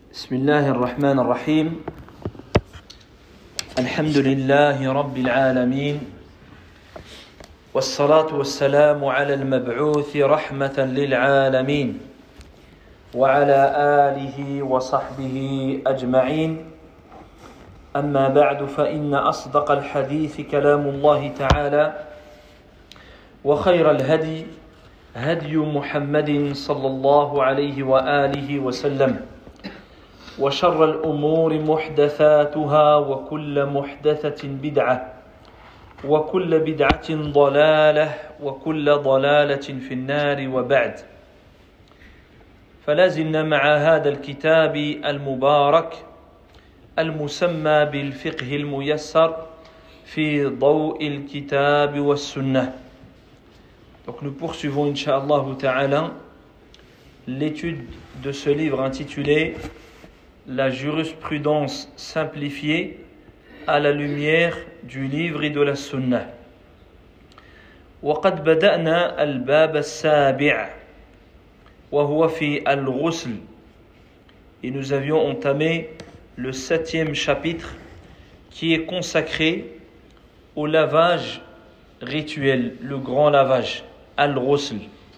بسم الله الرحمن الرحيم الحمد لله رب العالمين والصلاة والسلام على المبعوث رحمة للعالمين وعلى آله وصحبه أجمعين أما بعد فإن أصدق الحديث كلام الله تعالى وخير الهدي هدي محمد صلى الله عليه وآله وسلم وشر الأمور محدثاتها وكل محدثة بدعة وكل بدعة ضلالة وكل ضلالة في النار وبعد فلازلنا مع هذا الكتاب المبارك المسمى بالفقه الميسر في ضوء الكتاب والسنة. Donc nous poursuivons Inch'Allah Ta'ala l'étude de ce livre intitulé La jurisprudence simplifiée à la lumière du livre et de la sunna. وقد بدأنا الباب السابع وهو في الغسل. Et nous avions entamé le 7e chapitre qui est consacré au lavage rituel, le grand lavage, al-ghusl.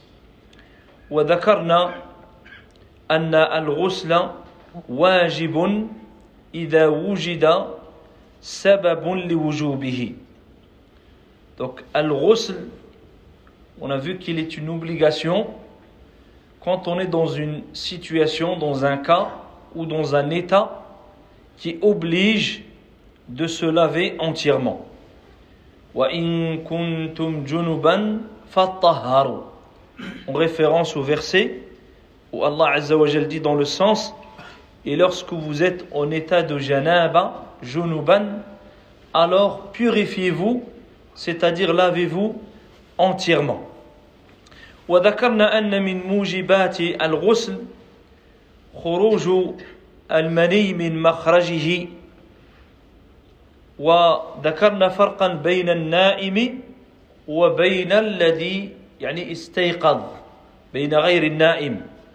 وذكرنا أن الغسل واجب إذا وجد سبب لوجوبه. Donc al-ghusl, on a vu qu'il est une obligation quand on est dans une situation, dans un cas ou dans un état qui oblige de se laver entièrement. وَإِن كُنْتُمْ جُنُبًا فَطَّهَّرُوا, en référence au verset où Allah Azza wa Jal dit dans le sens: et lorsque vous êtes en état de janaba, junuban, alors purifiez-vous, c'est-à-dire lavez-vous entièrement. وذكرنا أن من موجبات الغسل خروج المني من مخرجه وذكرنا فرقا بين النائم وبين الذي يعني استيقظ بين غير النائم.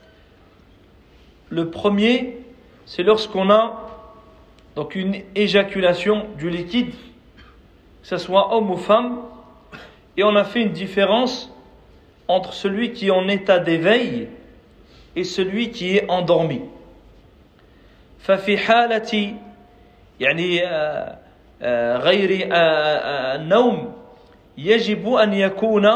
Le premier, c'est lorsqu'on a donc une éjaculation du liquide, que ce soit homme ou femme, et on a fait une différence entre celui qui est en état d'éveil et celui qui est endormi. ففي حالة يعني غير النوم يجب أن يكون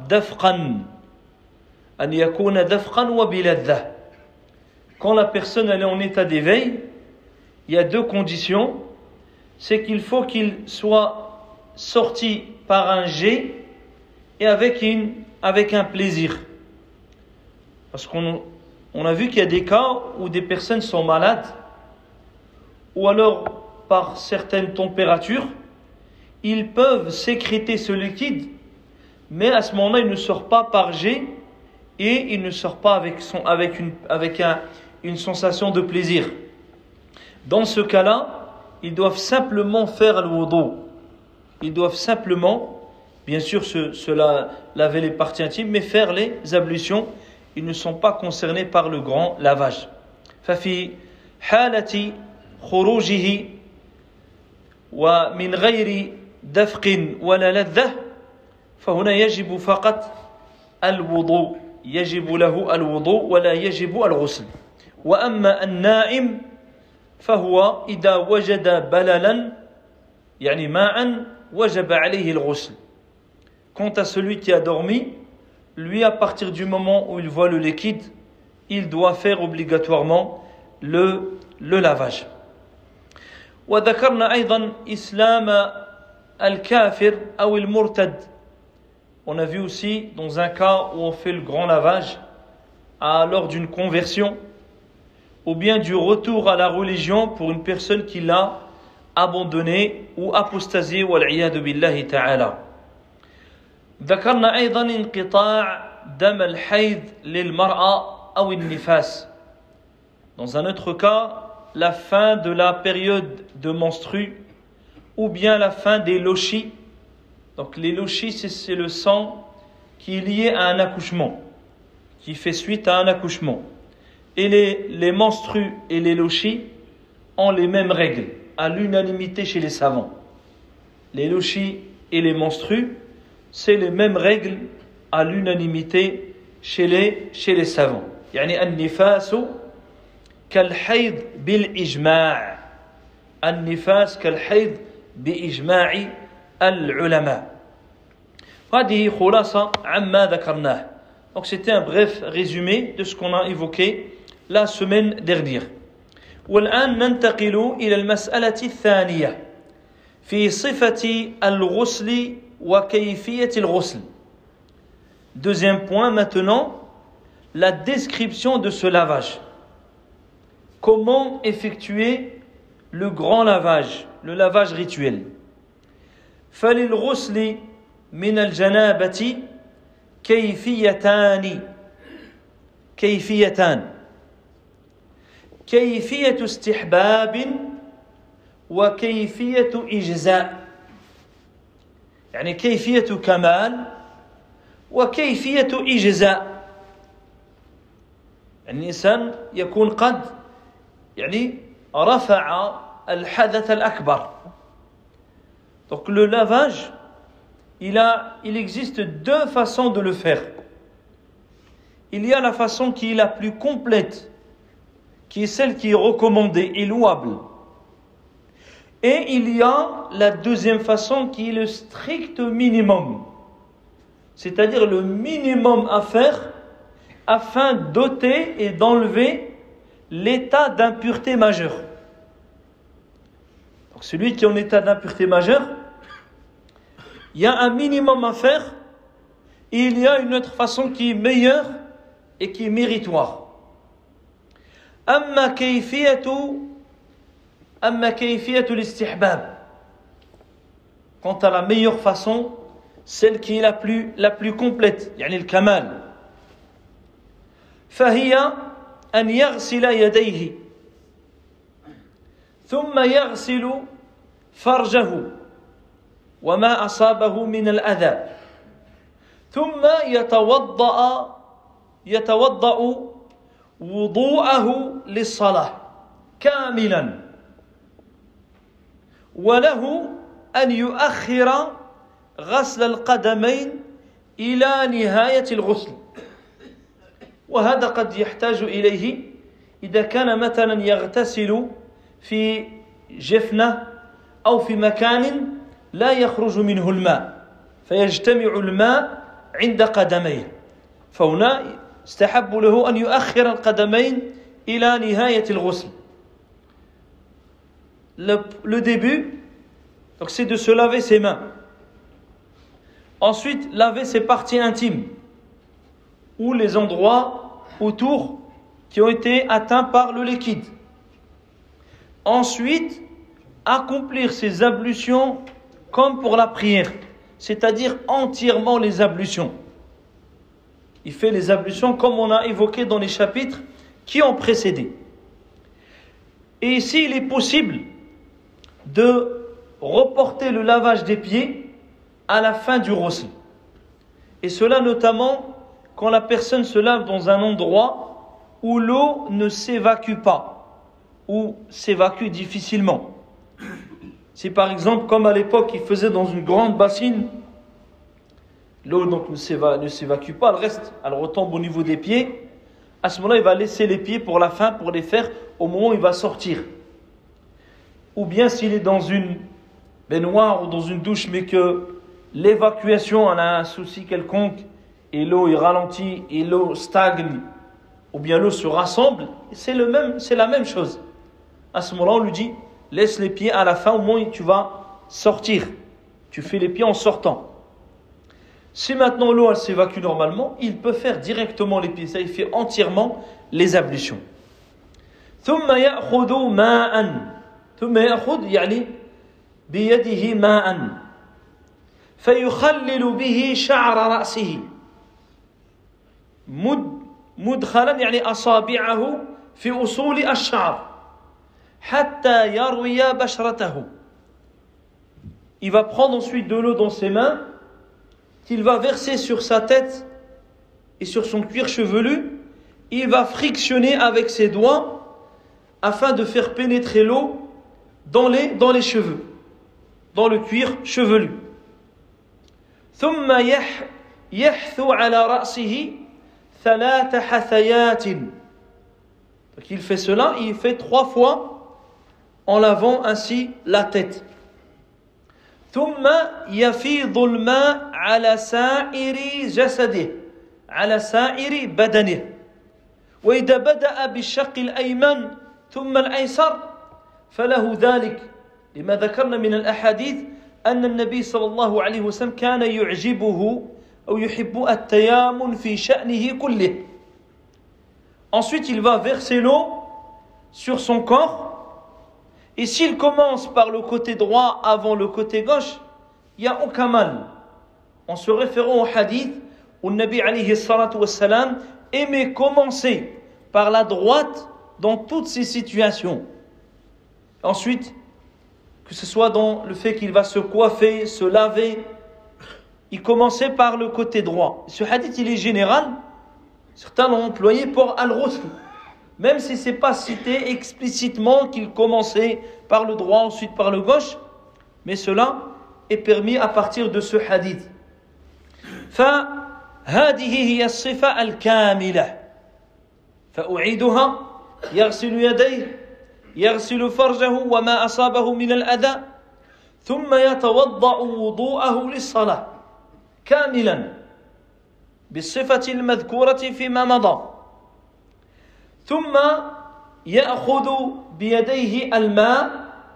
دفقا وبلذة. Quand la personne elle est en état d'éveil, il y a deux conditions. C'est qu'il faut qu'il soit sorti par un jet et avec un plaisir. Parce qu'on a vu qu'il y a des cas où des personnes sont malades, ou alors par certaines températures, ils peuvent sécréter ce liquide, mais à ce moment-là, il ne sort pas par jet et il ne sort pas avec une sensation de plaisir. Dans ce cas-là, ils doivent simplement faire le wudu. Ils doivent simplement, bien sûr, laver les parties intimes, mais faire les ablutions. Ils ne sont pas concernés par le grand lavage. ففي حالة خروجه ومن غير دفق ولا لذة فهنا يجب فقط الوضوء. يجب له الوضوء ولا يجب الغسل. وأما النائم فهو إذا وجد بللا يعني ماء وجب عليه الغسل. Quant à celui qui a dormi, lui, à partir du moment où il voit le liquide, il doit faire obligatoirement le lavage. وذكرنا أيضا إسلام الكافر أو المرتد. On a vu aussi dans un cas où on fait le grand lavage lors d'une conversion ou bien du retour à la religion pour une personne qui l'a abandonné ou apostasié والعياذ بالله تعالى. ذكرنا أيضا انقطاع دم الحيض للمرأة أو النفاس. Dans un autre cas, la fin de la période de menstrue ou bien la fin des lochis. Donc les lochis, c'est le sang qui est lié à un accouchement, qui fait suite à un accouchement. et les menstrues et les lochis ont les mêmes règles, à l'unanimité chez les savants. Les lochis et les menstrues, c'est les mêmes règles à l'unanimité chez les savants. يعني النفاس كالحيض بالإجماع. النفاس كالحيض بإجماع العلماء. هذه خلاصة عما ذكرناه. Donc c'était un bref résumé de ce qu'on a évoqué la semaine dernière. والآن ننتقل إلى المسألة الثانية في صفة الغسل وكيفية الغسل. Deuxième point maintenant, la description de ce lavage. Comment effectuer le grand lavage, le lavage rituel. فللغسل من الجنابة كيفيتان. كيفية استحباب وكيفية إجزاء. يعني كيفية كمال وكيفية إجزاء. الإنسان يكون قد رفع الحدث الأكبر. Donc le lavage, il existe deux façons de le faire. Il y a la façon qui est la plus complète, qui est celle qui est recommandée et louable. Et il y a la deuxième façon qui est le strict minimum, c'est-à-dire le minimum à faire afin d'ôter et d'enlever l'état d'impureté majeure. Donc celui qui est en état d'impureté majeure, il y a un minimum à faire et il y a une autre façon qui est meilleure et qui est méritoire. أما كيفية الاستحباب. Quant à la meilleure façon, celle qui est la plus complète, يعني الكمال. فهي أن يغسل يديه ثم يغسل فرجه وما أصابه من الأذى ثم يتوضأ وضوءه للصلاة كاملا وله أن يؤخر غسل القدمين إلى نهاية الغسل. وهذا قد يحتاج إليه إذا كان مثلا يغتسل في جفنة أو في مكان لا يخرج منه الماء فيجتمع الماء عند قدميه، فهنا استحب له أن يؤخر القدمين إلى نهاية الغسل. Le début, donc, c'est de se laver ses mains. Ensuite, laver ses parties intimes ou les endroits autour qui ont été atteints par le liquide. Ensuite, accomplir ses ablutions comme pour la prière, c'est-à-dire entièrement les ablutions. Il fait les ablutions comme on a évoqué dans les chapitres qui ont précédé. Et ici, il est possible de reporter le lavage des pieds à la fin du ghusl. Et cela notamment quand la personne se lave dans un endroit où l'eau ne s'évacue pas, ou s'évacue difficilement. Si par exemple, comme à l'époque, il faisait dans une grande bassine, l'eau donc ne s'évacue pas, elle retombe au niveau des pieds. À ce moment-là, il va laisser les pieds pour la fin, pour les faire au moment où il va sortir. Ou bien s'il est dans une baignoire ou dans une douche, mais que l'évacuation en a un souci quelconque, et l'eau est ralentie, et l'eau stagne, ou bien l'eau se rassemble, c'est la même chose. À ce moment-là, on lui dit, laisse les pieds à la fin, au moment où tu vas sortir. Tu fais les pieds en sortant. Si maintenant l'eau elle s'évacue normalement, il peut faire directement les pieds. Ça, il fait entièrement les ablutions. ثم يأخذ ماء ثم يأخذ يعني بيده ماء فيخلل به شعر رأسه مدخلا يعني أصابعه في أصول الشعر حتى يروي بشرته. Il va prendre ensuite de l'eau dans ses mains qu'il va verser sur sa tête et sur son cuir chevelu il va frictionner avec ses doigts afin de faire pénétrer l'eau dans les cheveux, dans le cuir chevelu. ثم يحثو على رأسه 3 حثيات. Donc il fait cela, il fait 3 fois en lavant ainsi la tête. ثم يفيض الماء على سائر جسده على سائر بدنه. وإذا بدأ بالشق الأيمن ثم الأيسر فله ذلك لما ذكرنا من الأحاديث أن النبي صلى الله عليه وسلم كان يعجبه أو يحب التيامن في شأنه كله. Ensuite, il va verser l'eau sur son corps. Et s'il commence par le côté droit avant le côté gauche, il n'y a aucun mal. En se référant au hadith où le Nabi alayhi salatu wassalam aimait commencer par la droite dans toutes ces situations. Ensuite, que ce soit dans le fait qu'il va se coiffer, se laver, il commençait par le côté droit. Ce hadith, il est général. Certains l'ont employé pour al-ghusl. Même si ce n'est pas cité explicitement qu'il commençait par le droit, ensuite par le gauche. Mais cela est permis à partir de ce hadith. فهذه هي الصفة الكاملة. فأعيدها يغسل يديه يغسل فرجه وما أصابه من الأذى ثم يتوضأ وضوءه للصلاة كاملا بالصفة المذكورة فيما مضى ثم يأخذ بيديه الماء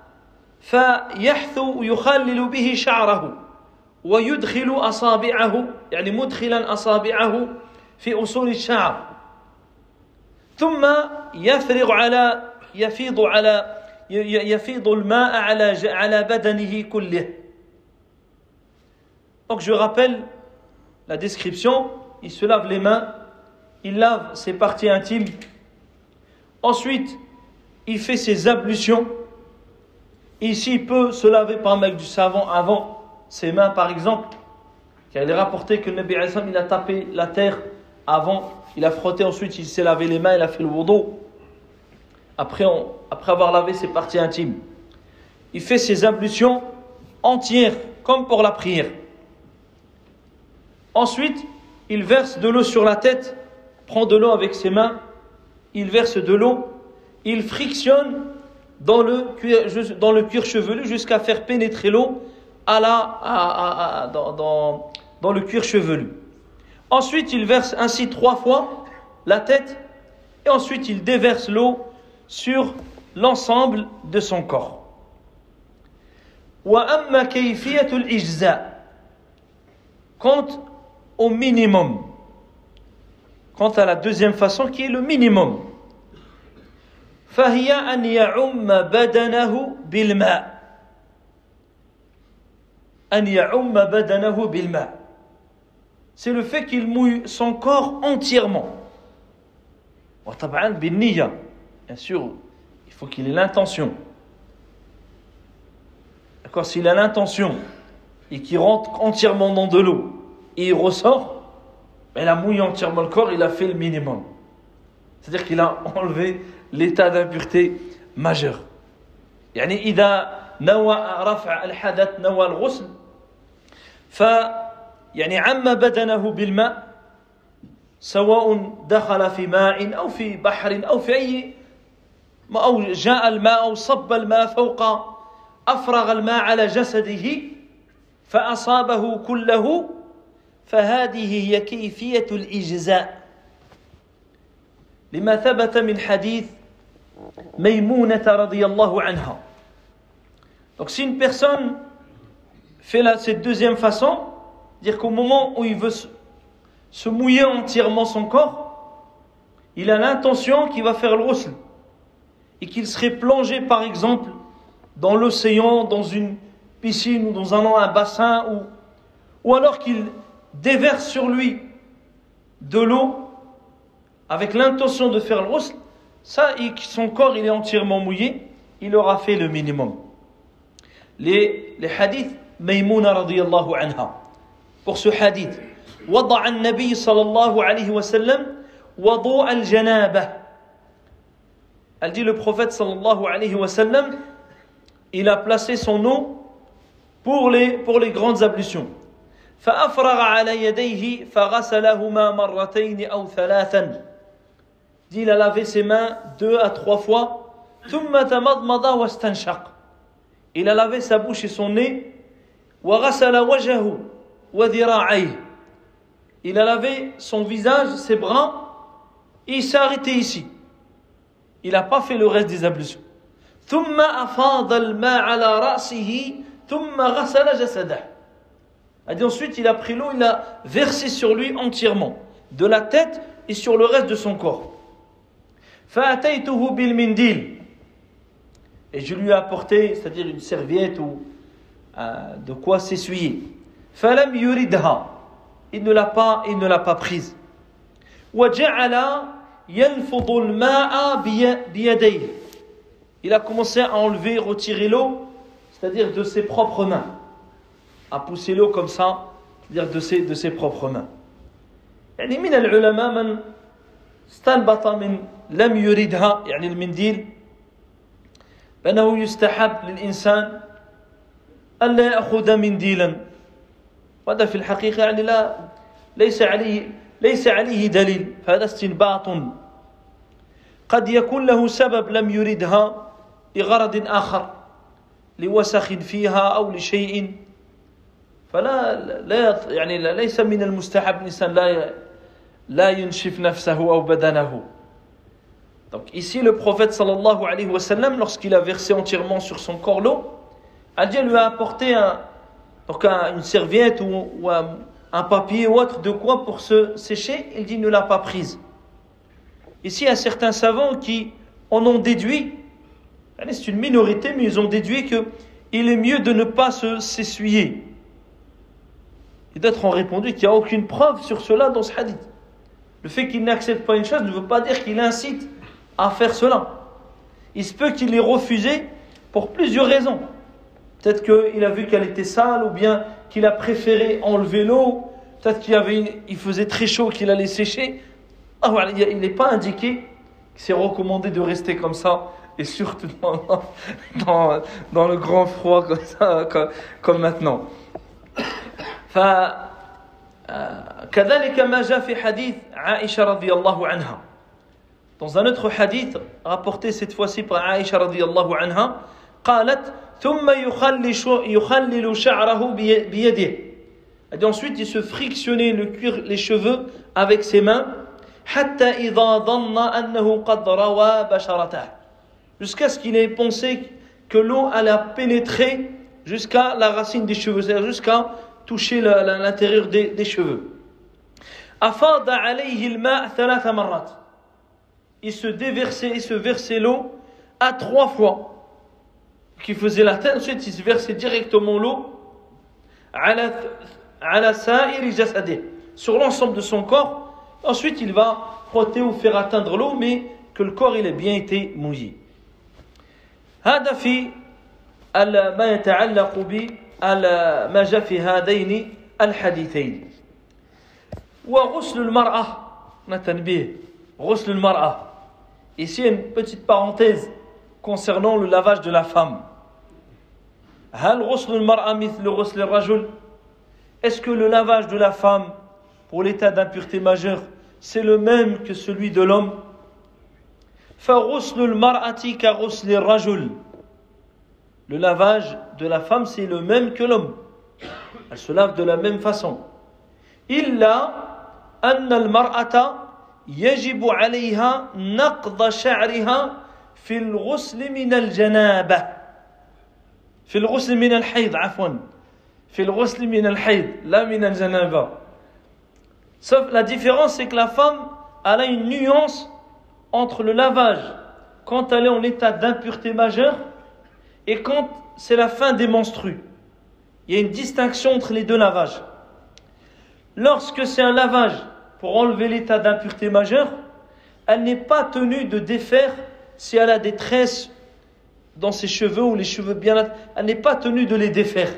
فيحثو يخلل به شعره ويدخل أصابعه يعني مدخلا أصابعه في أصول الشعر ثم يفيض الماء على بدنه كله. Donc je rappelle la description, il se lave les mains, il lave ses parties intimes, ensuite il fait ses ablutions. Ici il peut se laver par avec du savon avant ses mains par exemple, car il est rapporté que le Nabi alayhi salam il a tapé la terre avant, il a frotté, ensuite il s'est lavé les mains, il a fait le wudu après avoir lavé ses parties intimes. Il fait ses ablutions entières comme pour la prière. Ensuite il verse de l'eau sur la tête, prend de l'eau avec ses mains, il verse de l'eau, il frictionne dans le cuir chevelu jusqu'à faire pénétrer l'eau dans le cuir chevelu. Ensuite, il verse ainsi 3 fois la tête et ensuite il déverse l'eau sur l'ensemble de son corps. وأما كيفية الإجزاء, quant au minimum, quant à la deuxième façon qui est le minimum, فهي أن يعم بدنه بالماء. أن يعم بدنه بالماء, c'est le fait qu'il mouille son corps entièrement. وطبعا بالنية, bien sûr, il faut qu'il ait l'intention. D'accord, s'il a l'intention et qu'il rentre entièrement dans de l'eau et il ressort, il a mouillé entièrement le corps, il a fait le minimum. C'est-à-dire qu'il a enlevé l'état d'impureté majeur. يعني إذا نوى رفع الحدث نوى الغسل يعني عم بدنه بالماء سواء دخل في ماء أو في بحر أو في أي أو جاء الماء أو صب الماء فوق أفرغ الماء على جسده فأصابه كله فهذه هي كيفية الإجزاء لما ثبت من حديث ميمونة رضي الله عنها. Donc si une personne fait cette deuxième façon, dire qu'au moment où il veut se mouiller entièrement son corps, il a l'intention qu'il va faire le ghusl et qu'il serait plongé par exemple dans l'océan, dans une piscine ou dans un bassin ou alors qu'il déverse sur lui de l'eau avec l'intention de faire le ghusl, ça, son corps il est entièrement mouillé, il aura fait le minimum. Les hadiths Maïmouna radiyallahu anha. Pour ce hadith, وضع النبي صلى الله عليه وسلم وضوء الجنابة. Elle dit le prophète sallallahu alayhi wa sallam, il a placé son eau pour les grandes ablutions. فأفرغ على يديه فغسلهما مرتين أو ثلاثا. Dit il a lavé ses mains 2 à 3 fois. ثم تمضمض واستنشق. Il a lavé sa bouche et son nez. وغسل وجهه وذراعيه. Il a lavé son visage, ses bras, et il s'est arrêté ici. Il n'a pas fait le reste des ablutions. ثم أفاض الماء على رأسه ثم غسل جسده. A dit ensuite, il a pris l'eau, il a versé sur lui entièrement, de la tête et sur le reste de son corps. فأتيته بالمنديل. Et je lui ai apporté, c'est-à-dire une serviette ou de quoi s'essuyer. فلم يردها. Il ne l'a pas prise. وجعل ينفض الماء بيديه. Il a commencé à enlever, retirer l'eau, c'est-à-dire de ses propres mains. À pousser l'eau comme ça, c'est-à-dire de ses propres mains. يعني من العلماء من استنبط من لم يردها يعني المنديل بأنه يستحب للإنسان ألا يأخذ منديلا. وهذا في الحقيقة يعني ليس عليه دليل، فهذا استنباط قد يكون له سبب لم يردها لغرض آخر لوسخ فيها أو لشيء، فلا يعني ليس من المستحب الإنسان لا ينشف نفسه أو بدنه. Donc ici le prophète sallallahu alayhi wa sallam, lorsqu'il a versé entièrement sur son corps l'eau, Dieu lui a apporté une serviette ou un papier ou autre de quoi pour se sécher. Il dit il ne l'a pas prise. Ici il y a certains savants qui en ont déduit, c'est une minorité, mais ils ont déduit qu'il est mieux de ne pas s'essuyer. Et d'autres ont répondu qu'il n'y a aucune preuve sur cela dans ce hadith. Le fait qu'il n'accepte pas une chose ne veut pas dire qu'il incite à faire cela. Il se peut qu'il ait refusé pour plusieurs raisons. Peut-être qu'il a vu qu'elle était sale, ou bien qu'il a préféré enlever l'eau. Peut-être qu'il faisait très chaud, qu'il allait sécher. Il n'est pas indiqué que c'est recommandé de rester comme ça, et surtout dans le grand froid comme ça, comme maintenant. كذلك ما جاء في حديث عائشة رضي الله عنها. Dans un autre hadith rapporté cette fois-ci par Aïcha radiyallahu anha, قالت ثم يخلل شعره بيده. Et ensuite il se frictionnait le cuir, les cheveux avec ses mains, حتى إذا ظن أنه قد روى بشرته. Jusqu'à ce qu'il ait pensé que l'eau allait pénétrer jusqu'à la racine des cheveux, c'est-à-dire jusqu'à toucher l'intérieur des cheveux. أفاض عليه الماء 3 مرات. Il se versait l'eau à 3 fois. Qui faisait la tête, ensuite il se versait directement l'eau على سائر جسده, sur l'ensemble de son corps. Ensuite il va frotter ou faire atteindre l'eau, mais que le corps il ait bien été mouillé. هذا في ما يتعلق ما جاء في هذين الحديثين. وغسل المرأة نتنبيه غسل المرأة. Ici une petite parenthèse concernant le lavage de la femme. هل غسل المرأة مثل غسل الرجل? Est-ce que le lavage de la femme pour l'état d'impureté majeure c'est le même que celui de l'homme? فغسل المرأة كغسل الرجل. Le lavage de la femme c'est le même que l'homme. Elle se lave de la même façon. إلا أن المرأة يجب عليها نقض شعرها في الغسل من الجنابة. في الغسل من الحيض عفوا. في الغسل من الحيض لا من الجنابة. Sauf la différence c'est que la femme elle a une nuance entre le lavage quand elle est en état d'impureté majeure et quand c'est la fin des menstrues. Il y a une distinction entre les deux lavages. Lorsque c'est un lavage pour enlever l'état d'impureté majeure, elle n'est pas tenue de défaire si elle a des tresses dans ses cheveux ou les cheveux bien, elle n'est pas tenue de les défaire.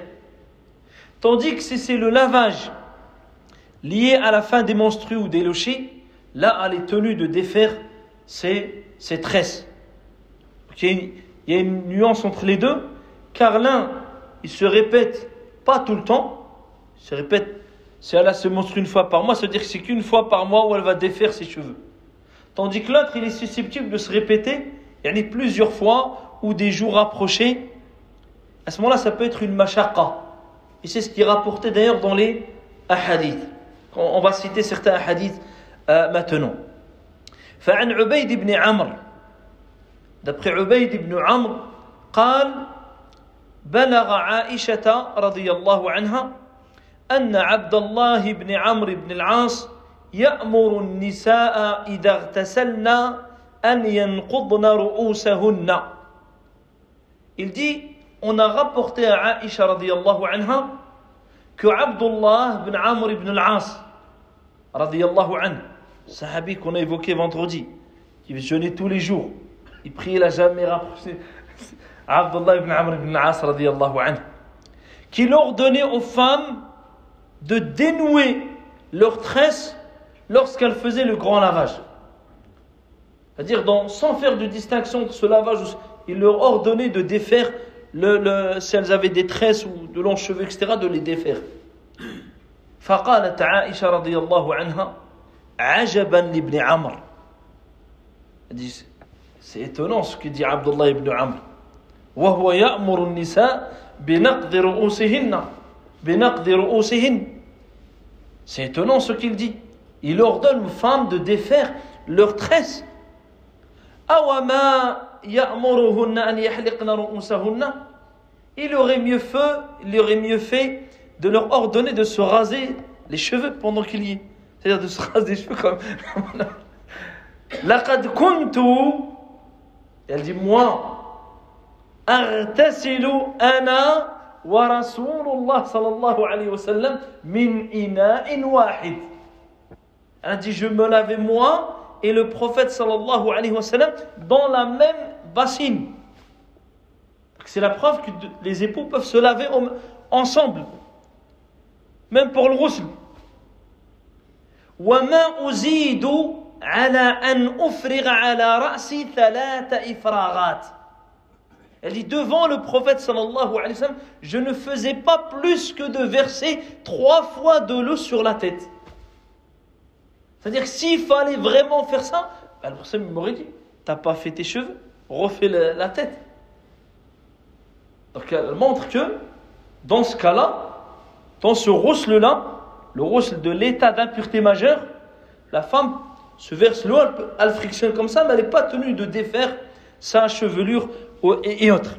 Tandis que si c'est le lavage lié à la fin des menstrues ou des lochis, là elle est tenue de défaire ses tresses. Il y a une nuance entre les deux, car l'un, il se répète pas tout le temps, il se répète, si elle se montre une fois par mois, ça veut dire que c'est qu'une fois par mois où elle va défaire ses cheveux. Tandis que l'autre, il est susceptible de se répéter, il y en a plusieurs fois ou des jours rapprochés. À ce moment-là, ça peut être une mashaqqa. Et c'est ce qui est rapporté d'ailleurs dans les ahadiths. On va citer certains ahadiths maintenant. فعن عبيد بن عمرو d'après عبيد بن عمرو قال بلغ عائشة رضي الله عنها أن عبد الله بن عمرو بن العاص يأمر النساء إذا اغتسلن أن ينقضن رؤوسهن. Il dit, on a rapporté à Aïcha radiyallahu anha que Abdullah ibn Amr ibn al-As radiyallahu anhu, sahabi qu'on a évoqué vendredi, qui jeûnait tous les jours, il priait, il n'a jamais rapproché. Abdullah ibn Amr ibn al-As radiyallahu anhu, qu'il ordonnait aux femmes de dénouer leurs tresses lorsqu'elles faisaient le grand lavage. C'est-à-dire, sans faire de distinction entre ce lavage, il leur ordonnait de défaire, si elles avaient des tresses ou de longs cheveux, etc., de les défaire. فقالت عائشة رضي الله عنها عجبا لابن عمرو. Elle dit, c'est étonnant ce que dit Abdullah ibn Amr. وهو يأمر النساء بنقض رؤوسهن. C'est étonnant ce qu'il dit. Il ordonne aux femmes de défaire leurs tresses. أوما يأمرهن أن يحلقن رؤوسهن. Il aurait mieux fait de leur ordonner de se raser les cheveux pendant qu'il y est. C'est-à-dire de se raser les cheveux comme... لقد كنت, elle dit, moi, أغتسل أنا ورسول الله صلى الله عليه وسلم من إناء واحد. Elle dit, je me lavais moi et le prophète sallallahu alayhi wa sallam dans la même bassine. C'est la preuve que les époux peuvent se laver ensemble, même pour le ghusl. وما أزيد على أن أفرغ على رأسي 3 إفراغات. Elle dit, devant le prophète sallallahu alayhi wa sallam, je ne faisais pas plus que de verser 3 fois de l'eau sur la tête. C'est-à-dire que s'il fallait vraiment faire ça, le prophète m'aurait dit, t'as pas fait tes cheveux, refais la tête. Donc elle montre que dans ce cas-là, dans ce ghusl-là, le ghusl de l'état d'impureté majeure, la femme se verse l'eau, elle frictionne comme ça, mais elle n'est pas tenue de défaire sa chevelure et autres.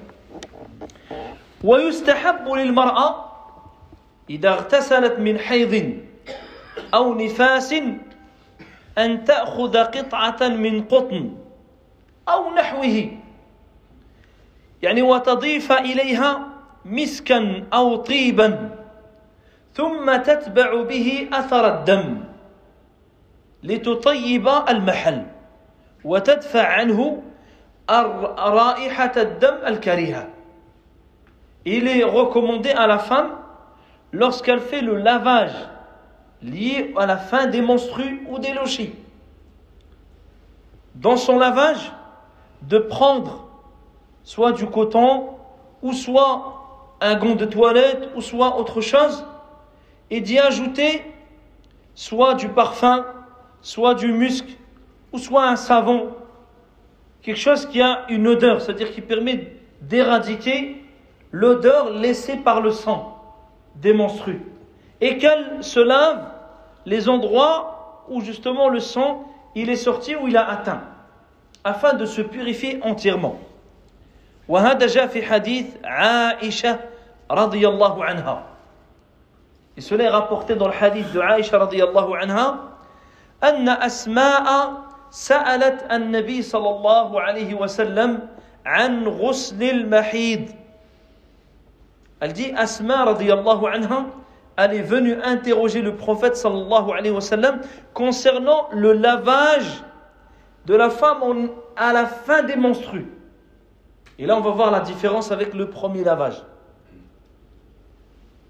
ويستحب للمرأة إذا اغتسلت من حيض أو نفاس أن تأخذ قطعة من قطن أو نحوه يعني وتضيف إليها مسكا أو طيبا ثم تتبع به أثر الدم لتطيب المحل وتدفع عنه رائحة الدم الكريهة. Il est recommandé à la femme, lorsqu'elle fait le lavage lié à la fin des menstrues ou des lochis, dans son lavage, de prendre soit du coton, ou soit un gant de toilette, ou soit autre chose, et d'y ajouter soit du parfum, soit du musc, ou soit un savon, quelque chose qui a une odeur, c'est-à-dire qui permet d'éradiquer l'odeur laissée par le sang des menstrues, et qu'elle se lave les endroits où justement le sang il est sorti, où il a atteint, afin de se purifier entièrement. وهذا جاء في حديث عائشة رضي الله عنها. Et cela est rapporté dans le hadith de Aïcha radiyallahu anha, أن أسماء سألت النبي صلى الله عليه وسلم عن غسل المحيض. Elle dit, Asma radiyallahu anha, elle est venue interroger le prophète sallallahu alayhi wa sallam concernant le lavage de la femme à la fin des menstrues. Et là, on va voir la différence avec le premier lavage.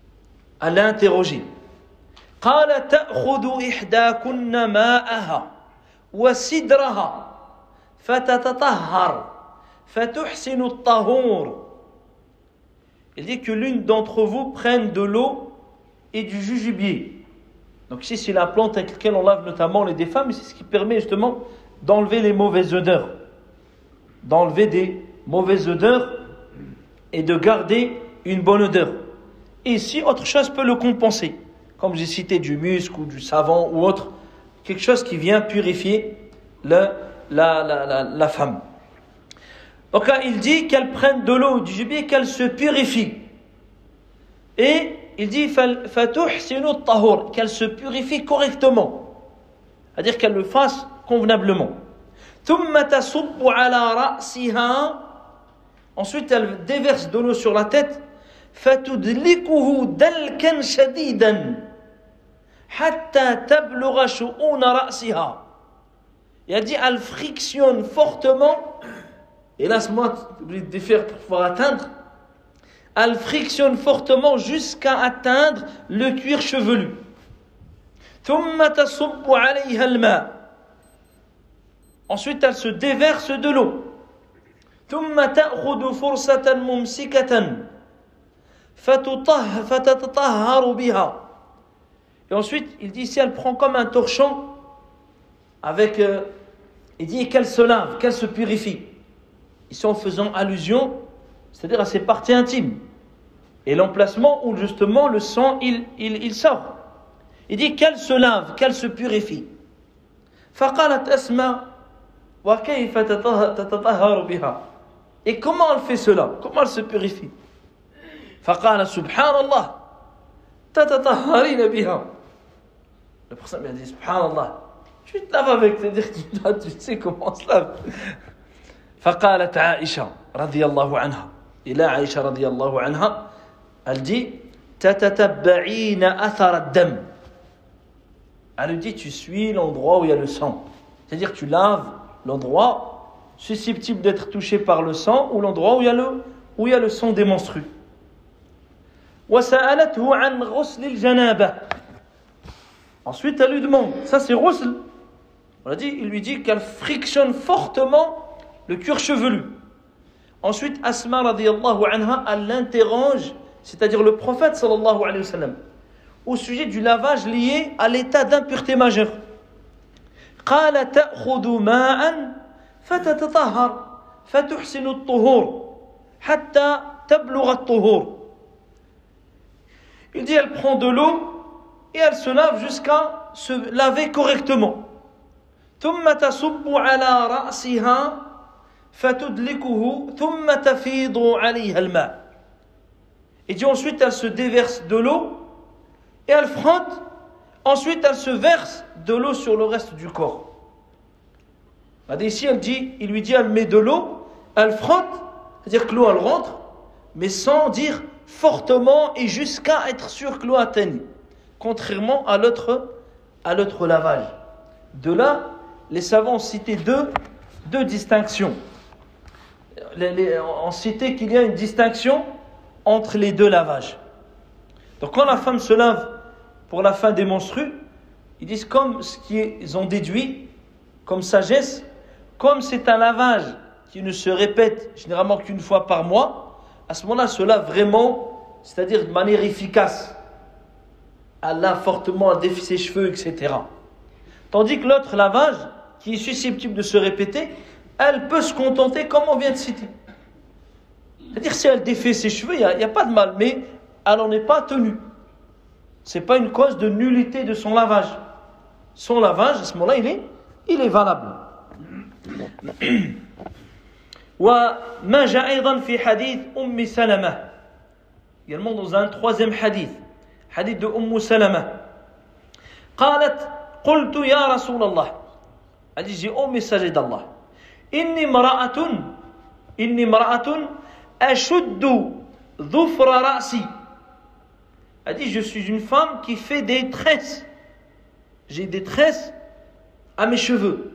Elle l'a interrogé. قال تأخذ إحداكن ماءها. وسدرها فتتطهر فتحسن الطهور. Il dit que l'une d'entre vous prenne de l'eau et du jujubier. Donc ici c'est la plante avec laquelle on lave notamment les des femmes, et c'est ce qui permet justement d'enlever les mauvaises odeurs. D'enlever des mauvaises odeurs et de garder une bonne odeur. Et ici, autre chose peut le compenser. Comme j'ai cité du musc ou du savon ou autre, quelque chose qui vient purifier la femme. Donc là, il dit qu'elle prenne de l'eau, du gibier, qu'elle se purifie. Et il dit فَتُحْسِنُ الطَّهُورِ, qu'elle se purifie correctement. C'est-à-dire qu'elle le fasse convenablement. ثُمَّ تَصُبُّ عَلَى رَأْسِهَا, ensuite elle déverse de l'eau sur la tête. فَتُدْلِكُهُ دَلْكًا شَدِيدًا حَتَّى تَبْلُغَ شُؤُونَ رَأْسِهَا. Il a dit, elle frictionne fortement, et là, c'est moi, obligé de défaire pour pouvoir atteindre. Elle frictionne fortement jusqu'à atteindre le cuir chevelu. ثُمَّ تَصُبُّ عَلَيْهَا الْمَاء. Ensuite, elle se déverse de l'eau. ثُمَّ تَأْخُذُ فُرْصَةً مُمْسِكَةً فَتَتَطَهَّرُ بِهَا. Et ensuite, il dit, si elle prend comme un torchon, avec, il dit qu'elle se lave, qu'elle se purifie. Ici, en faisant allusion, c'est-à-dire à ses parties intimes. Et l'emplacement où justement le sang, il sort. Il dit qu'elle se lave, qu'elle se purifie. فَقَالَتْ أَسْمَا وَكَيْفَ تَتَطَهَّرُ بِهَا. Et comment elle fait cela? Comment elle se purifie? فَقَالَ سُبْحَانَ اللَّهِ تَتَطَهَّرِينَ بِهَا. Le prophète m'a dit, Subhanallah, tu te laves avec, c'est-à-dire que tu sais comment on se lave. فقالت عائشة رضي الله عنها, إلى عائشة رضي الله عنها, elle dit تتتبعين أثر الدم. Elle lui dit, tu suis l'endroit où il y a le sang, c'est-à-dire tu laves l'endroit susceptible d'être touché par le sang ou l'endroit où il y a le sang des menstrues. وسألته عن غسل الجنابة. Ensuite elle lui demande, ça c'est ghusl, on a dit, il lui dit qu'elle frictionne fortement le cuir chevelu. Ensuite, Asma radiyallahu anha, elle l'interroge, c'est-à-dire le prophète sallallahu alayhi wa sallam, au sujet du lavage lié à l'état d'impureté majeure. قال تأخذ ماء فتتطهر فتحسن الطهور حتى تبلغ الطهور. Il dit, elle prend de l'eau et elle se lave jusqu'à se laver correctement. ثم تصب على رأسها فتدلكه ثم تفيض عليها الماء. Et dit ensuite elle se déverse de l'eau et elle frotte, ensuite elle se verse de l'eau sur le reste du corps. Ici il lui dit, elle met de l'eau, elle frotte, c'est-à-dire que l'eau elle rentre, mais sans dire fortement et jusqu'à être sûr que l'eau atteigne, contrairement à l'autre lavage. De là, les savants ont cité deux distinctions. On citait qu'il y a une distinction entre les deux lavages. Donc quand la femme se lave pour la fin des menstrues, ils disent comme ce qu'ils ont déduit comme sagesse, comme c'est un lavage qui ne se répète généralement qu'une fois par mois, à ce moment-là, elle se lave vraiment, c'est-à-dire de manière efficace. Elle lave fortement, elle défie ses cheveux, etc. Tandis que l'autre lavage, qui est susceptible de se répéter, elle peut se contenter comme on vient de citer. C'est-à-dire si elle défait ses cheveux, il n'y a pas de mal, mais elle n'en est pas tenue. Ce n'est pas une cause de nullité de son lavage. Son lavage, à ce moment-là, il est valable. وما جاء أيضا في حديث أم سلمة. Également dans un troisième hadith de سلمة. قالت قلت يا رسول الله, elle dit, j'ai, ô messager d'Allah, إني امرأة أشد ظفر رأسي. Elle dit, je suis une femme qui fait des tresses. J'ai des tresses à mes cheveux.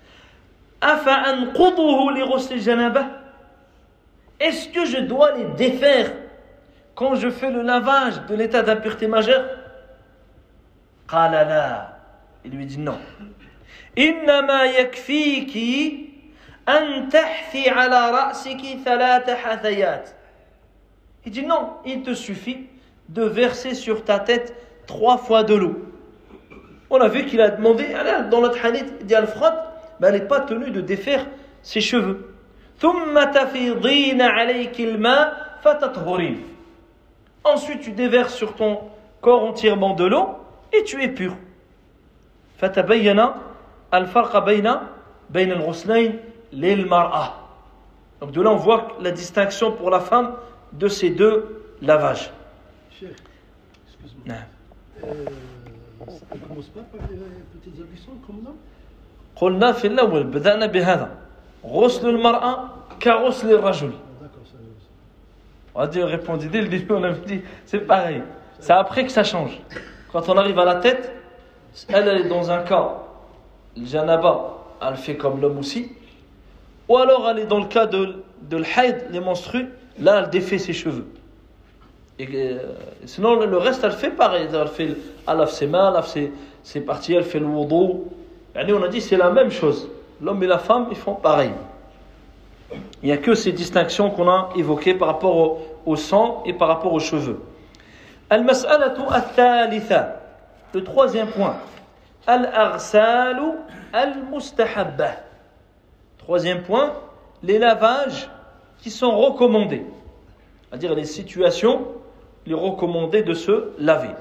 أفأنقضه لغسل الجنابة. Est-ce que je dois les défaire quand je fais le lavage de l'état d'impureté majeure? قال لا. Il lui dit non. إنما يكفيك أن تحثي على رأسك 3 حثيات. Il dit non, il te suffit de verser sur ta tête 3 fois de l'eau. On a vu qu'il a demandé, dans notre hadith, il dit elle frotte, mais elle n'est pas tenue de défaire ses cheveux. ثم تفيضين عليك الماء فتطهرين. Ensuite tu déverses sur ton corps entièrement de l'eau et tu es pur. فتبين الفرق بين الغسلين للمرأة. Donc de là on voit la distinction pour la femme de ces 2 lavages. Cheikh, excuse-moi. Ça ne commence pas par les petites ablutions comme là? قلنا في الأول بدأنا بهذا غسل المرأة كغسل الرجل. D'accord, ça. On a dit, répondu dès le début, on avait dit c'est pareil. C'est après que ça change. Quand on arrive à la tête, elle est dans un cas, le janaba, elle fait comme l'homme aussi. Ou alors elle est dans le cas de l'haïd, les menstrues, là elle défait ses cheveux. Et sinon le reste elle fait pareil. Elle lave ses mains, elle lave ses parties, elle fait le wudu. Et on a dit c'est la même chose. L'homme et la femme ils font pareil. Il n'y a que ces distinctions qu'on a évoquées par rapport au sang et par rapport aux cheveux. Al-mas'alatu al-thalitha. Le 3e point. Al-aghsalu al-mustahabba. 3e point. Les lavages qui sont recommandés. C'est-à-dire les situations, les recommandés de se laver.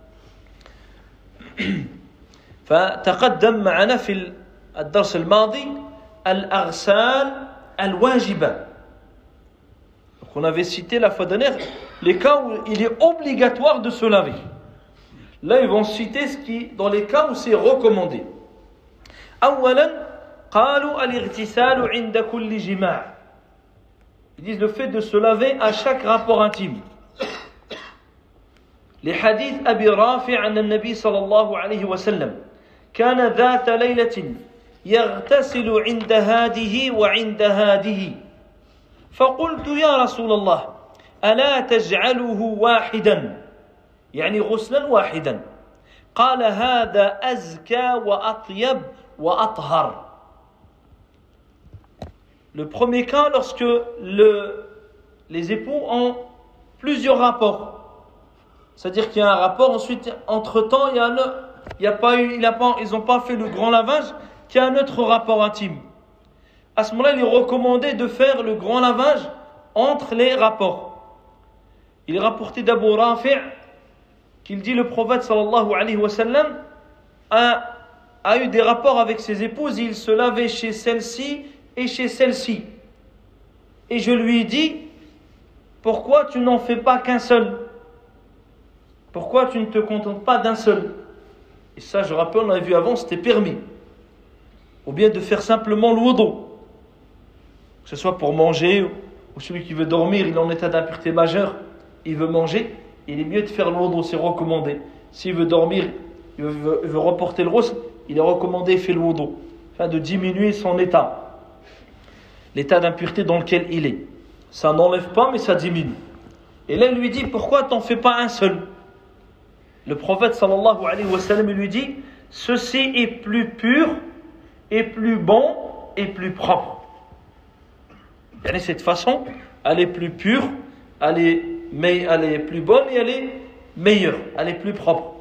فتقدم معنا في الدرس الماضي الأغسال الواجبة. Donc on avait cité la fois dernière les cas où il est obligatoire de se laver. Là ils vont citer dans les cas où c'est recommandé. أولا قالوا الاغتسال عند كل جماع. Ils disent le fait de se laver à chaque rapport intime. لحديث أبي رافع عن النبي صلى الله عليه وسلم كان ذات ليلة يغتسل عند هاده وعند هاده فقلت يا رسول الله ألا تجعله واحدا يعني غسلا واحدا قال هذا أزكى وأطيب وأطهر. Le premier cas lorsque les époux ont plusieurs rapports. C'est-à-dire qu'il y a un rapport, ensuite, entre-temps, ils n'ont pas fait le grand lavage, qu'il y a un autre rapport intime. À ce moment-là, il est recommandé de faire le grand lavage entre les rapports. Il est rapporté d'Abu Rafi' qu'il dit le prophète sallallahu alayhi wa sallam a eu des rapports avec ses épouses, il se lavait chez celle-ci et chez celle-ci. Et je lui ai dit, pourquoi tu n'en fais pas qu'un seul? Pourquoi tu ne te contentes pas d'un seul? Et ça, je rappelle, on avait vu avant, c'était permis. Ou bien de faire simplement le wudu. Que ce soit pour manger, ou celui qui veut dormir, il est en état d'impureté majeure, il veut manger, il est mieux de faire le wudu, c'est recommandé. S'il veut dormir, il veut reporter le ghusl, il est recommandé, il fait le wudu. Afin de diminuer son état. L'état d'impureté dans lequel il est. Ça n'enlève pas, mais ça diminue. Et là, il lui dit, pourquoi t'en fais pas un seul? Le prophète sallallahu alayhi wa sallam lui dit, ceci est plus pur, et plus bon, et plus propre. Et cette façon, elle est plus pure, elle est plus bonne, et elle est meilleure, elle est plus propre.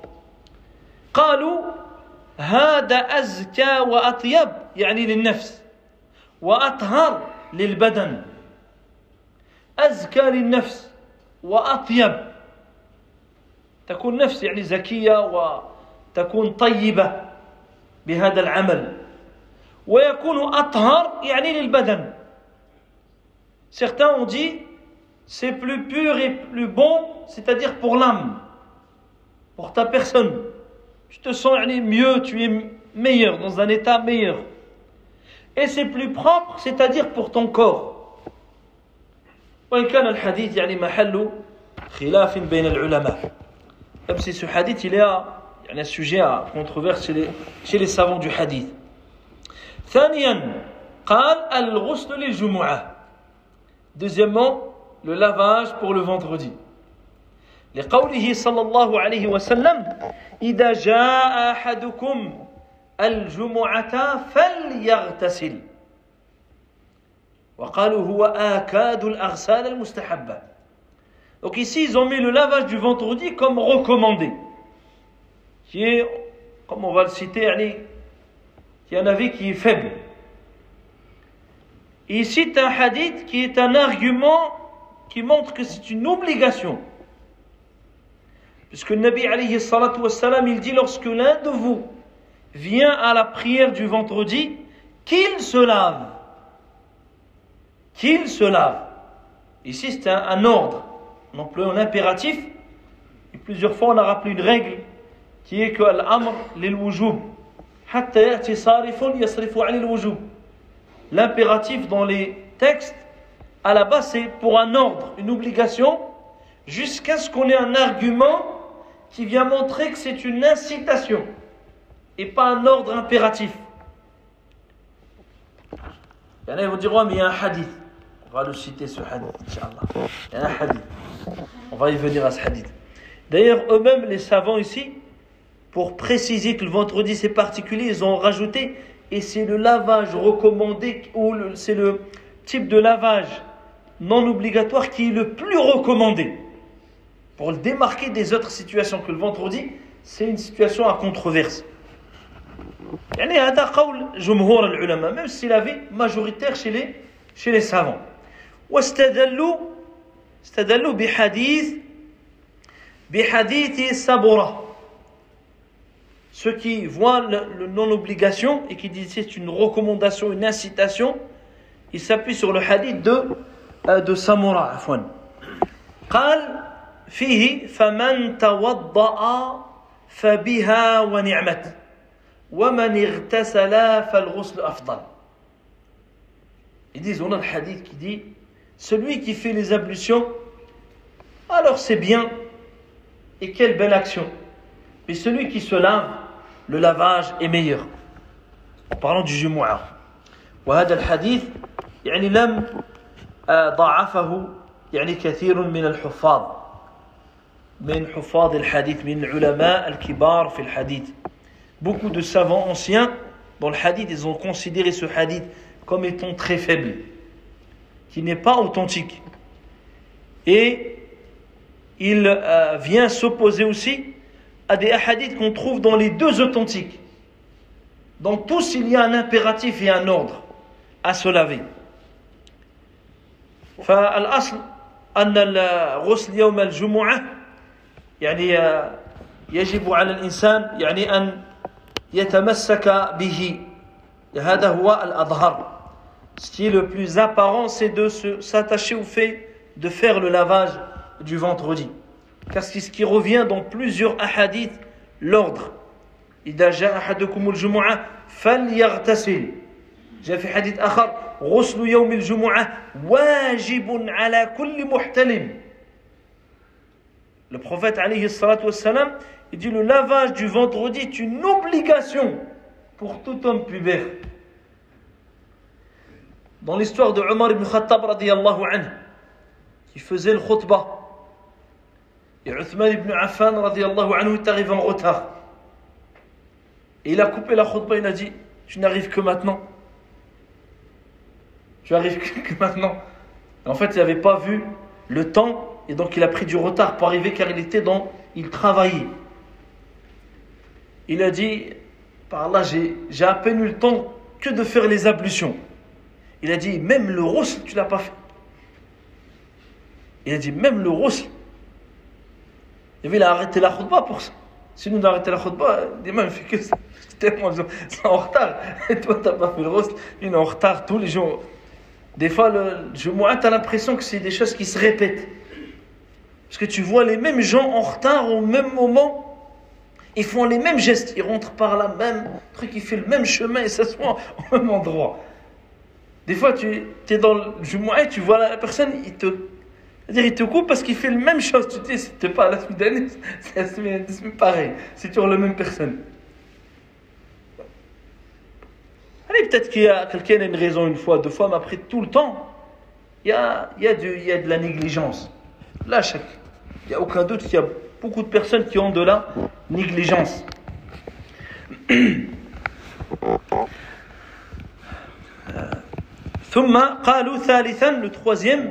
قالوا هذا أزكى وأطيب يعني للنفس وأطهر للبدن. أزكى للنفس وأطيب تكون نفس يعني زكية وتكون طيبة بهذا العمل ويكون أطهر يعني للبدن. Certains ont dit c'est plus pur et plus bon, c'est-à-dire pour l'âme, pour ta personne. Tu te sens mieux, tu es meilleur, dans un état meilleur. Et c'est plus propre, c'est-à-dire pour ton corps. وإن كان الحديث يعني محل خلاف بين العلماء. Même si ce hadith il est un sujet à controverse chez les savants du hadith. ثانيا قال الغسل للجمعة. Deuxièmement, le lavage pour le vendredi. لقوله صلى الله عليه وسلم إذا جاء أحدكم الجمعة فليغتسل وقالوا هو آكاد الأغسال المستحبة. Donc ici ils ont mis le lavage du vendredi comme recommandé, qui est, comme on va le citer, qui est un avis qui est faible. Et ici c'est un hadith qui est un argument qui montre que c'est une obligation. Puisque le Nabi alayhi salatu wassalam, il dit lorsque l'un de vous vient à la prière du vendredi, qu'il se lave. Qu'il se lave. Ici c'est un ordre, non plus un impératif. Et plusieurs fois on a rappelé une règle qui est que l'amr lil wujub hatta ya'ti sarifun yasrifu 'an al wujub. L'impératif dans les textes à la base c'est pour un ordre, une obligation, jusqu'à ce qu'on ait un argument qui vient montrer que c'est une incitation et pas un ordre impératif. Il y en a qui vont dire mais il y a un hadith. On va le citer ce hadith, Inch'Allah. Il y a un hadith. On va y venir à ce hadith. D'ailleurs, eux-mêmes, les savants ici, pour préciser que le vendredi c'est particulier, ils ont rajouté, et c'est le lavage recommandé, ou c'est le type de lavage non obligatoire qui est le plus recommandé. Pour le démarquer des autres situations que le vendredi, c'est une situation à controverse. يعني هذا قول جمهور العلماء, même si l'avis majoritaire chez les savants. واستدلوا بحديث سبرة. Ceux qui voient le non-obligation et qui disent c'est une recommandation, une incitation, ils s'appuient sur le hadith de Samura. عفوا. قال فيه فمن توضأ فبها ونعمت ومن اغتسل فالغسل أفضل. Ils disent, on a le hadith qui dit, celui qui fait les ablutions, alors c'est bien, et quelle belle action. Mais celui qui se lave, le lavage est meilleur. En parlant du Jumu'ah. وهذا الحديث يعني لم ضعفه يعني كثير من الحفاظ من حفاظ الحديث من العلماء الكبار في الحديث. Beaucoup de savants anciens dans le hadith, ils ont considéré ce hadith comme étant très faible, qui n'est pas authentique. Et il vient s'opposer aussi à des hadiths qu'on trouve dans les deux authentiques. Dans tous, il y a un impératif et un ordre à se laver. فالأصل أن الغسل يوم الجمعة يعني يجب على الإنسان يعني أن يتمسك به. هذا هو الأظهر. Ce qui est le plus apparent, c'est de s'attacher au fait de faire le lavage du vendredi. Car c'est ce qui revient dans plusieurs ahadiths, l'ordre. إذا جاء أحدكم الجمعة فليغتسل. جاء في حديث آخر غسل يوم الجمعة واجب على كل محتلم. Le prophète alayhi salatu wassalam, il dit le lavage du vendredi est une obligation pour tout homme pubère. Dans l'histoire de Omar ibn Khattab radiyallahu anhu, qui faisait le khutbah, et Uthman ibn Affan radiyallahu anhu est arrivé en retard. Et il a coupé la khutbah, il a dit, tu n'arrives que maintenant. Tu arrives que maintenant. Et en fait, il n'avait pas vu le temps, et donc il a pris du retard pour arriver, car il travaillait. Il a dit, par Allah, j'ai à peine eu le temps que de faire les ablutions. Il a dit, même le ghusl, tu ne l'as pas fait. Il a dit, même le ghusl. Il a arrêté la khutbah pour ça. Si nous arrêté la khutbah, il ne fait que ça. C'est en retard. Et toi, tu n'as pas fait le ghusl. Il est en retard tous les jours. Des fois, tu as l'impression que c'est des choses qui se répètent. Parce que tu vois les mêmes gens en retard au même moment. Ils font les mêmes gestes. Ils rentrent par là, même truc, ils font le même chemin et s'assoient au même endroit. Des fois, tu es dans le Jumu'ah et tu vois la personne, il te coupe parce qu'il fait la même chose. Tu te dis, c'était pas la semaine dernière, c'est la semaine pareil. C'est toujours la même personne. Allez, peut-être qu'il y a quelqu'un qui a une raison une fois, deux fois, mais après tout le temps, il y a de la négligence. Là, il n'y a aucun doute qu'il y a beaucoup de personnes qui ont de la négligence. ثم قالوا ثالثا, le troisième,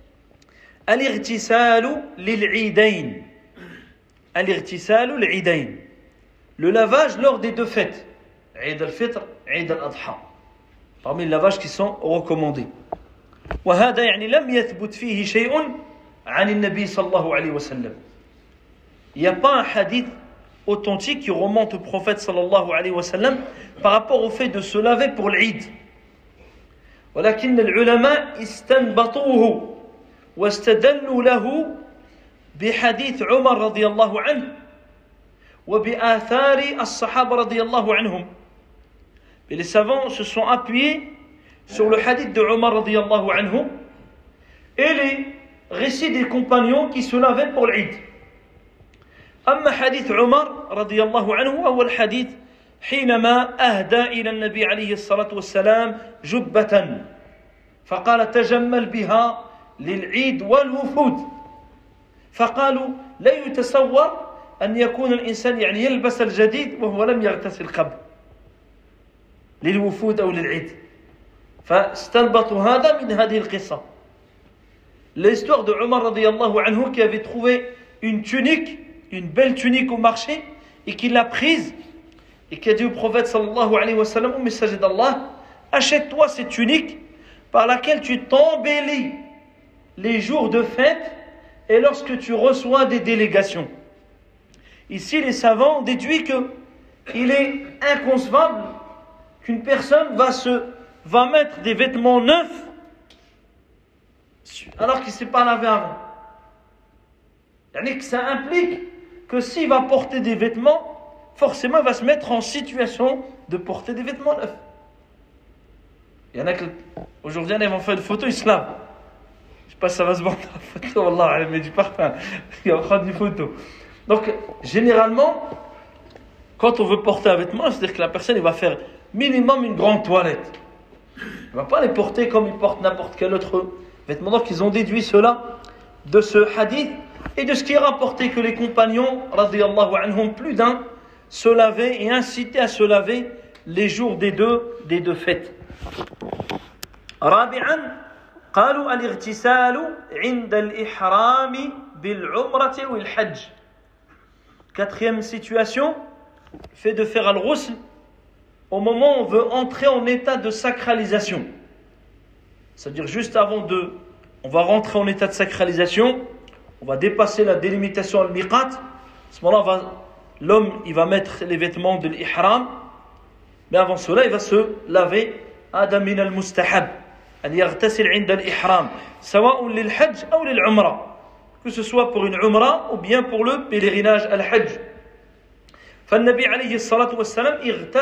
الاغتسال للعيدين. الاغتسال للعيدين, le lavage lors des deux fêtes, Eid al-Fitr, Eid al-Adha, parmi les lavages qui sont recommandés. وهذا يعني لم يثبت فيه شيء عن النبي صلى الله عليه وسلم. Il n'y a pas un hadith authentique qui remonte au prophète sallallahu alayhi wa sallam par rapport au fait de se laver pour l'Eid. ولكن العلماء استنبطوه واستدلوا له بحديث عمر رضي الله عنه وبآثار الصحابة رضي الله عنهم. Et les savants se sont appuyés sur le hadith de Omar رضي الله عنه et les récits des compagnons qui se lavaient pour l'Eid. أما حديث عمر رضي الله عنه هو الحديث حينما أهدى إلى النبي عليه الصلاة والسلام جبة فقال تجمل بها للعيد والوفود فقالوا لا يتصور أن يكون الإنسان يعني يلبس الجديد وهو لم يغتسل قبل للوفود أو للعيد فاستنبطوا هذا من هذه القصة. L'histoire de Omar رضي الله عنه qui avait trouvé une tunique, une belle tunique au marché et qui l'a prise et qui a dit au prophète sallallahu alayhi wa sallam, au messager d'Allah, achète-toi cette tunique par laquelle tu t'embellis les jours de fête et lorsque tu reçois des délégations. Ici, les savants ont déduit qu'il est inconcevable qu'une personne va mettre des vêtements neufs alors qu'il ne s'est pas lavé avant. C'est-à-dire que ça implique que s'il va porter des vêtements, forcément il va se mettre en situation de porter des vêtements neufs. Il y en a qui aujourd'hui ils vont faire une photo, ils se lavent. Je ne sais pas si ça va se voir dans la photo, Allah, elle met du parfum, il va prendre une photo. Donc généralement, quand on veut porter un vêtement, c'est-à-dire que la personne il va faire minimum une grande toilette. Il ne va pas les porter comme il porte n'importe quel autre vêtement. Donc ils ont déduit cela de ce hadith et de ce qui est rapporté que les compagnons, radiyallahu anhum, plus d'un, se lavaient et incitaient à se laver les jours des deux fêtes. رابعا قالوا الاغتسال عند الإحرام بالعمرة والحج. Quatrième situation, fait de faire al-ghusl au moment où on veut entrer en état de sacralisation. C'est-à-dire juste avant on va rentrer en état de sacralisation, on va dépasser la délimitation al-miqat. À ce moment-là, l'homme il va mettre les vêtements de l'ihram, mais avant cela, il va se laver. هذا من المستحب أن يغتسل عند الإحرام سواء للحج أو للعمرة, que ce soit pour une umra ou bien pour le pèlerinage al-hajj. فالنبي عليه الصلاة والسلام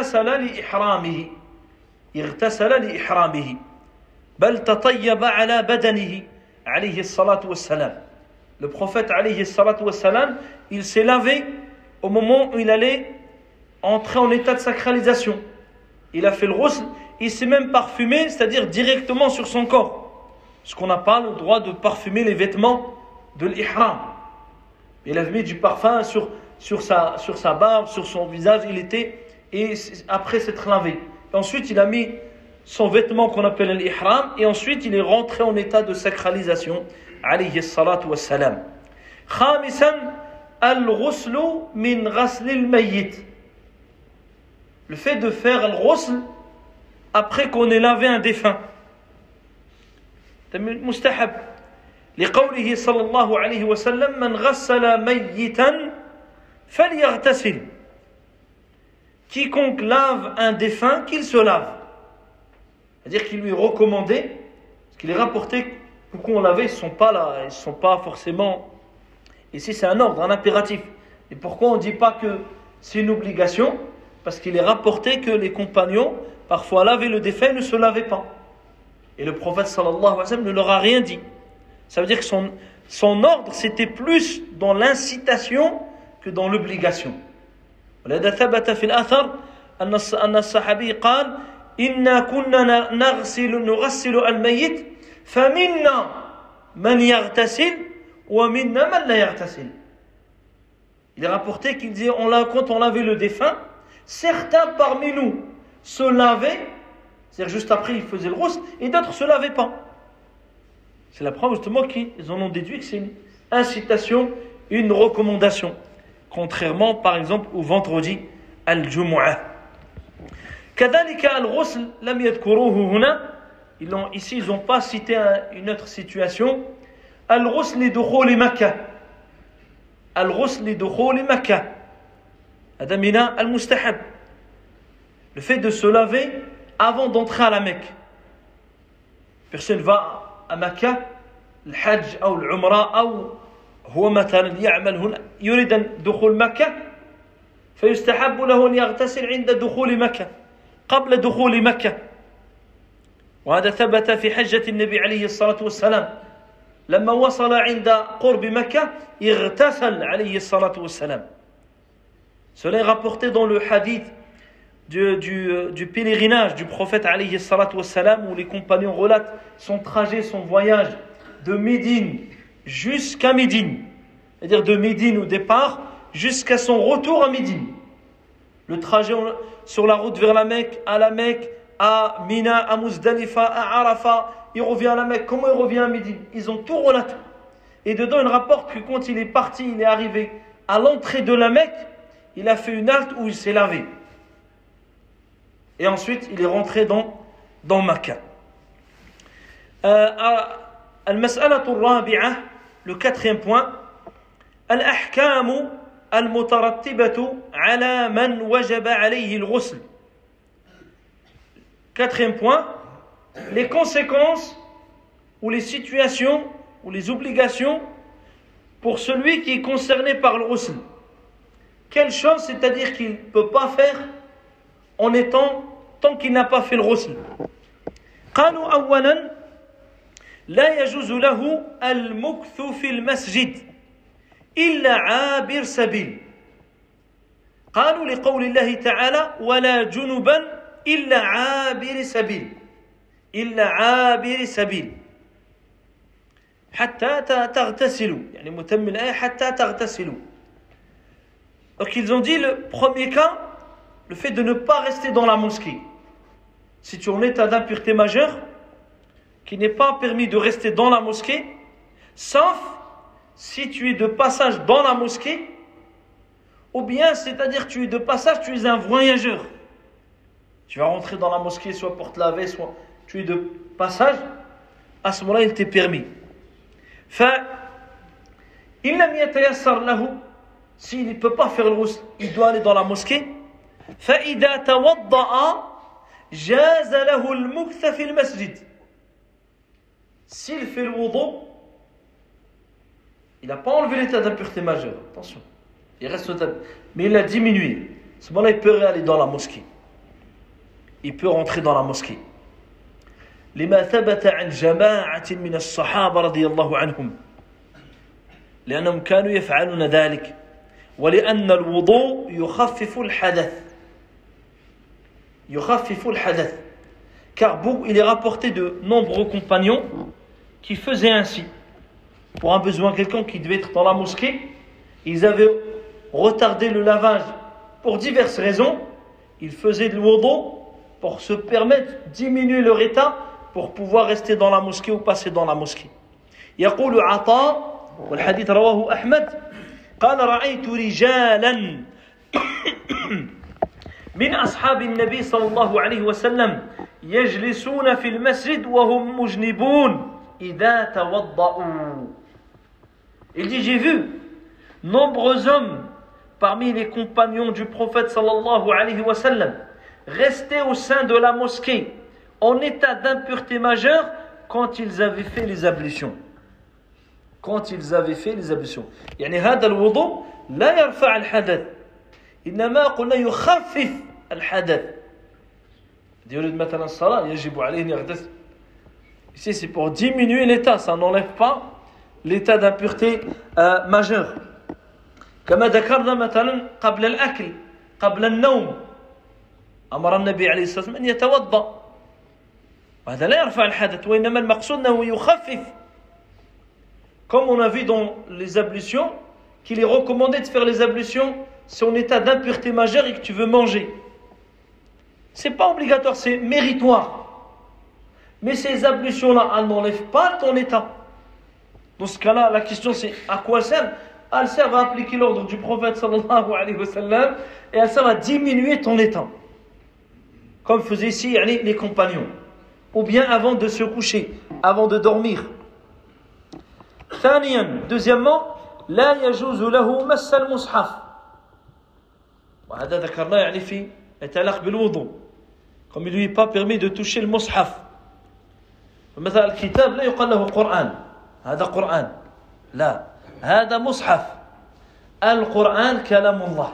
اغتسل لإحرامه بل تطيب على بدنه عليه الصلاة والسلام. Le prophète عليه الصلاة والسلام, il s'est lavé au moment où il allait entrer en état de sacralisation. Il a fait le ghusl, il s'est même parfumé, c'est-à-dire directement sur son corps. Parce qu'on n'a pas le droit de parfumer les vêtements de l'ihram. Il avait mis du parfum sur sa barbe, sur son visage, et après s'être lavé. Et ensuite, il a mis son vêtement qu'on appelle l'ihram, et ensuite, il est rentré en état de sacralisation. Alayhi salatu wassalam. Khamisan, al-ghuslu min ghasl al-mayyit. Le fait de faire al-ghusl après qu'on ait lavé un défunt. مستحب لقوله صلى الله عليه وسلم من غسل ميتا فليغتسل. Quiconque lave un défunt, qu'il se lave. C'est-à-dire qu'il lui est recommandé, parce qu'il est rapporté que pourquoi on lavait, ils ne sont pas forcément. Ici c'est un ordre, un impératif. Et pourquoi on ne dit pas que c'est une obligation? Parce qu'il est rapporté que les compagnons parfois lavaient le défunt et ne se lavaient pas. Et le prophète sallallahu alayhi wa sallam ne leur a rien dit. Ça veut dire que son ordre c'était plus dans l'incitation que dans l'obligation. ولذا ثبت في الأثر أن الصحابي قال إنا كنا نغسل الميت فمنا من يغتسل ومنا من لا يغتسل. Il est rapporté qu'il disait quand on lavait le défunt, certains parmi nous se lavaient, c'est-à-dire juste après ils faisaient le ghusl, et d'autres ne se lavaient pas. C'est la preuve justement qu'ils en ont déduit que c'est une incitation, une recommandation. Contrairement par exemple au vendredi al-Jumu'ah. كذلك الغسل لم يذكروه هنا. Ici ils n'ont pas cité une autre situation. الغسل لدخول مكة. الغسل لدخول مكة. هذا من المستحب. Le fait de se laver avant d'entrer à la Mecque. Personne va à Mecca, le Hajj ou l'Umrah ou هو مثلا يعمل هنا يريد دخول مكة فيستحب له أن يغتسل عند دخول مكة قبل دخول مكة. وهذا ثبت في حجة النبي عليه الصلاة والسلام لما وصل عند قرب مكة اغتسل عليه الصلاة والسلام. Cela est rapporté dans le hadith du pèlerinage du prophète alayhi salatu wassalam, où les compagnons relatent son trajet, son voyage de Médine jusqu'à Médine, c'est-à-dire de Médine au départ jusqu'à son retour à Médine. Le trajet sur la route vers la Mecque, à Mina, à Muzdalifa, à Arafat, il revient à la Mecque, comment il revient à Médine, ils ont tout relaté. Et dedans il rapporte que quand il est parti, il est arrivé à l'entrée de la Mecque, il a fait une halte où il s'est lavé. Et ensuite, il est rentré dans Makkah. المسألة الرابعة, le quatrième point, الأحكام المترتبة على من وجب عليه الغسل. Quatrième point, les conséquences ou les situations ou les obligations pour celui qui est concerné par le ghusl. Quelle chose, c'est-à-dire qu'il ne peut pas faire tant qu'il n'a pas fait le ghusl. قالوا أولا لا يجوز له المكث في المسجد إلا عابر سبيل. قالوا لقول الله تعالى ولا جنبا إلا عابر سبيل إلا عابر سبيل حتى تغتسلوا يعني متم الآية حتى تغتسلوا. Donc ils ont dit le premier cas, le fait de ne pas rester dans la mosquée. Si tu es en état d'impureté majeure, qu'il n'est pas permis de rester dans la mosquée, sauf si tu es de passage dans la mosquée, ou bien, c'est-à-dire tu es de passage, tu es un voyageur. Tu vas rentrer dans la mosquée, soit pour te laver, soit tu es de passage, à ce moment-là, il t'est permis. فإن لم يتيسر له, s'il ne peut pas faire le ghusl, il doit aller dans la mosquée. فإذا توضأ جاز له المكث في المسجد. S'il fait le wudu, il n'a pas enlevé l'état d'impureté majeure, attention, il reste mais il l'a diminué. À ce moment-là, il peut aller dans la mosquée, il peut rentrer dans la mosquée. لما ثبت عن جماعة من الصحابة رضي الله عنهم لأنهم كانوا يفعلون ذلك ولأن الوضوء يخفف الحدث. Car il est rapporté de nombreux compagnons qui faisaient ainsi. Pour un besoin, quelqu'un qui devait être dans la mosquée, ils avaient retardé le lavage pour diverses raisons. Ils faisaient le wudu pour se permettre de diminuer leur état pour pouvoir rester dans la mosquée ou passer dans la mosquée. يقول عطاء والحديث رواه أحمد قال رأيت رجالا من أصحاب النبي صلى الله عليه وسلم يجلسون في المسجد وهم مجنبون إذا توضأوا. Il dit, j'ai vu nombreux hommes parmi les compagnons du prophète sallallahu alayhi wa sallam rester au sein de la mosquée en état d'impureté majeure quand ils avaient fait les ablutions. يعني هذا الوضوء لا يرفع الحدث إنما قلنا يخفف الحدث. يريد مثلا الصلاة يجب عليه أن يغتسل. Ici c'est pour diminuer l'état, ça n'enlève pas l'état d'impureté majeure. كما ذكرنا مثلا قبل الأكل قبل النوم أمر النبي عليه الصلاة والسلام أن يتوضأ وهذا لا يرفع الحدث وإنما المقصود أنه يخفف. Comme on a vu dans les ablutions qu'il est recommandé de faire les ablutions si on est en état d'impureté majeure et que tu veux manger. C'est pas obligatoire, c'est méritoire. Mais ces ablutions-là, elles n'enlèvent pas ton état. Dans ce cas-là, la question c'est à quoi elles servent? Elles servent à appliquer l'ordre du prophète sallallahu alayhi wa sallam et elles servent à diminuer ton état. Comme faisaient ici les compagnons. Ou bien avant de se coucher, avant de dormir. ثانيا, deuxièmement, لا يجوز له مس المصحف. وهذا ذكرناه في يتعلق بالوضوء. Comme il lui est pas permis de toucher le mushaf. مثلا الكتاب لا يقال له قرآن. هذا قرآن. لا. هذا مصحف. القرآن كلام الله.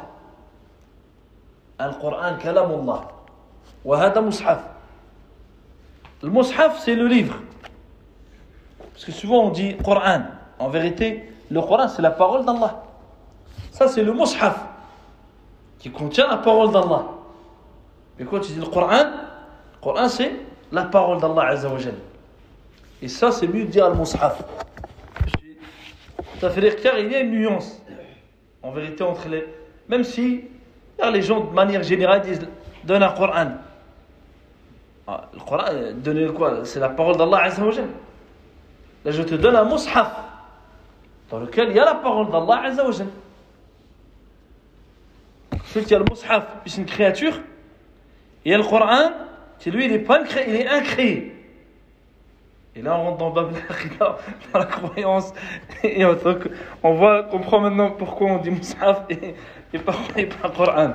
القرآن كلام الله. وهذا مصحف. Le mushaf, c'est le livre. Parce que souvent on dit Coran. En vérité, le Coran, c'est la parole d'Allah. Ça, c'est le mushaf qui contient la parole d'Allah. Mais quand tu dis le Coran, c'est la parole d'Allah Azza wa Jal. Et ça, c'est mieux de dire le mushaf. Ça fait dire car il y a une nuance. En vérité, entre les. Même si les gens, de manière générale, disent donne un Coran. Le Coran, donner quoi? C'est la parole d'Allah Azza wa Jal. Là, je te donne un mushaf dans lequel il y a la parole d'Allah Azza wa Jal. Celui qui a le mushaf, c'est une créature. Et le Coran, qui lui, il est incréé. Et là, on rentre dans Bab al-Aqidah, dans la croyance. Et on comprend maintenant pourquoi on dit mushaf et pas Coran.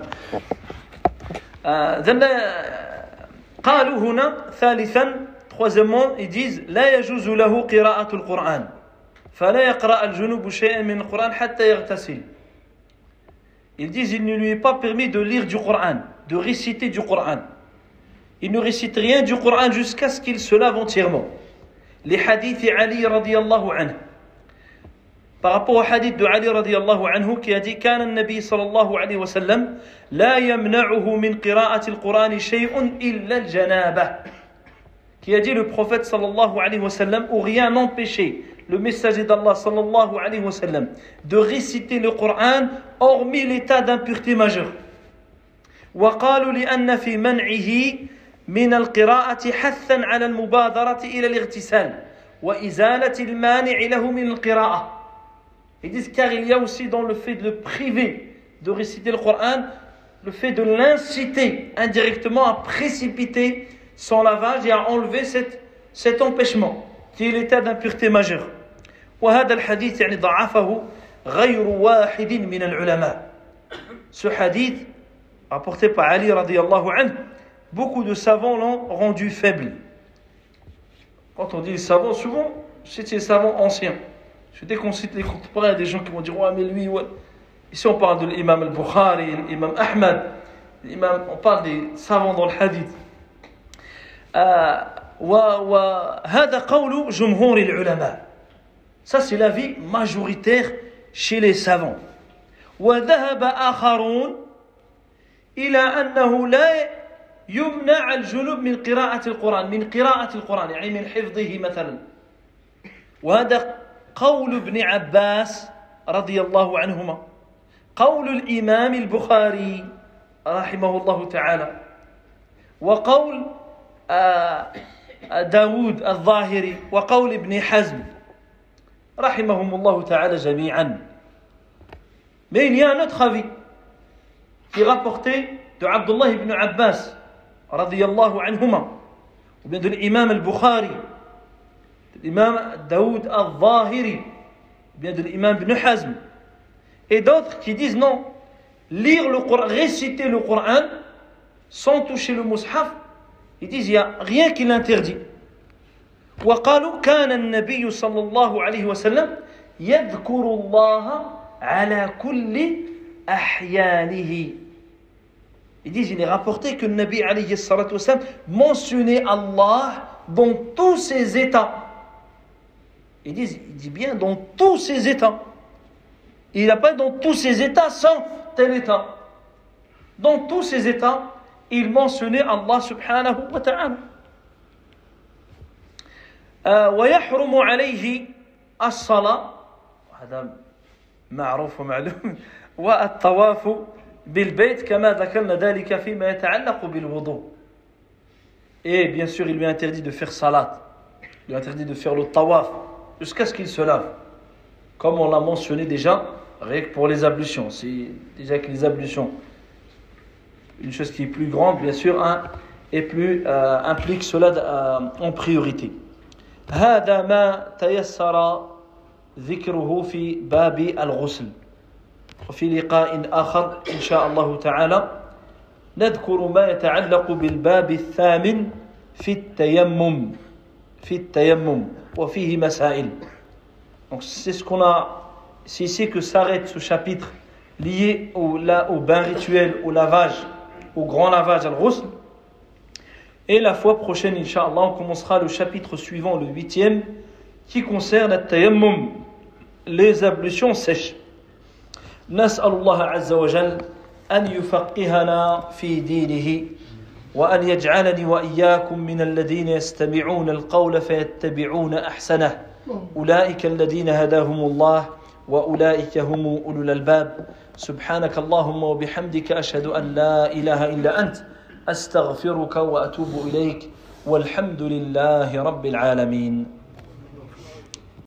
قالوا هنا ثالثا troisièmement ils disent لا يجوز له قراءة القرآن فلا يقرأ الجنوب شيئا من القرآن حتى يغتسل. Ils disent il ne lui est pas permis de lire du Coran, de réciter du Coran. Il ne récite rien du Coran jusqu'à ce qu'il se lave entièrement. Les hadiths Ali radiyallahu anhu. Par rapport au hadith de Ali radiyallahu anhu qui a dit كان النبي صلى الله عليه وسلم لا يمنعه من قراءة القرآن شيء إلا الجنابة. Qui a dit le prophète sallallahu alayhi wa sallam ou rien n'empêchait le messager d'Allah sallallahu alayhi wa sallam de réciter le Coran hormis l'état d'impureté majeure. وقالوا لأن في منعه من القراءة حثا على المبادرة إلى الاغتسال وإزالة المانع له من القراءة. Ils disent car il y a aussi dans le fait de le priver de réciter le Coran, le fait de l'inciter indirectement à précipiter son lavage et à enlever cet empêchement qui est l'état d'impureté majeure. وهذا الحديث يعني ضعفه غير واحد من العلماء. Ce hadith rapporté par Ali radiyallahu anhu, beaucoup de savants l'ont rendu faible. Quand on dit les savants, souvent c'est les savants anciens. Dès qu'on cite les contemporains, il y a des gens qui vont dire ouais mais lui ouais. Ici on parle de l'imam al-Bukhari, l'imam Ahmad, on parle des savants dans le hadith. وهذا قول جمهور العلماء. Ça c'est l'avis majoritaire chez les savants. وذهب آخرون إلى أنه لا يمنع الجنوب من قراءة القرآن يعني من حفظه مثلا. وهذا قول ابن عباس رضي الله عنهما قول الإمام البخاري رحمه الله تعالى وقول داود الظاهري وقول ابن حزم رحمهم الله تعالى جميعا. Mais il y a un autre avis qui est rapporté de Abdullah ibn Abbas radiyallahu anhuma ou bien de l'imam al-Bukhari, de l'imam Daoud al-Zahiri, ou bien de l'imam ibn Hazm et d'autres qui disent non, lire le Coran, réciter le Coran sans toucher le mushaf, ils disent il n'y a rien qui l'interdit. وقالوا كان النبي صلى الله عليه وسلم يذكر الله على كل أحيانه. Ils disent il est rapporté que le Nabi alayhi salatu wasalam mentionnait Allah dans tous ses états. Il dit bien dans tous ses états. Il n'a pas dans tous ses états sans tel état. Dans tous ses états, il mentionnait Allah subhanahu wa ta'ala. ويحرم عليه الصلاة هذا معروف ومعلوم والطواف بالبيت كما ذكرنا ذلك فيما يتعلق بالوضوء. Et bien sûr, il lui a interdit de faire salat. Il lui a interdit de faire le tawaf jusqu'à ce qu'il se lave. Comme on l'a mentionné déjà, rien que pour les ablutions. C'est déjà que les ablutions, une chose qui est plus grande, bien sûr, et plus implique cela en priorité. هذا ما تيسر ذكره في باب الغسل. وفي لقاء آخر إن شاء الله تعالى نذكر ما يتعلق بالباب الثامن في التيمم وفيه مسائل. Donc c'est ce qu'on a, c'est ici que s'arrête ce chapitre lié au bain rituel, au lavage, au grand lavage, al-ghusl. Et la fois prochaine, Inch'Allah, on commencera le chapitre suivant, le 8e, qui concerne al-tayammum, les ablutions sèches. نسأل الله عز وجل أن يفقهنا في دينه وأن يجعلني وإياكم من الذين يستمعون القول فيتبعون أحسنه أولئك الذين هداهم الله وأولئك هم أولو الألباب سبحانك اللهم وبحمدك أشهد أن لا إله إلا أنت أستغفرك وأتوب إليك والحمد لله رب العالمين.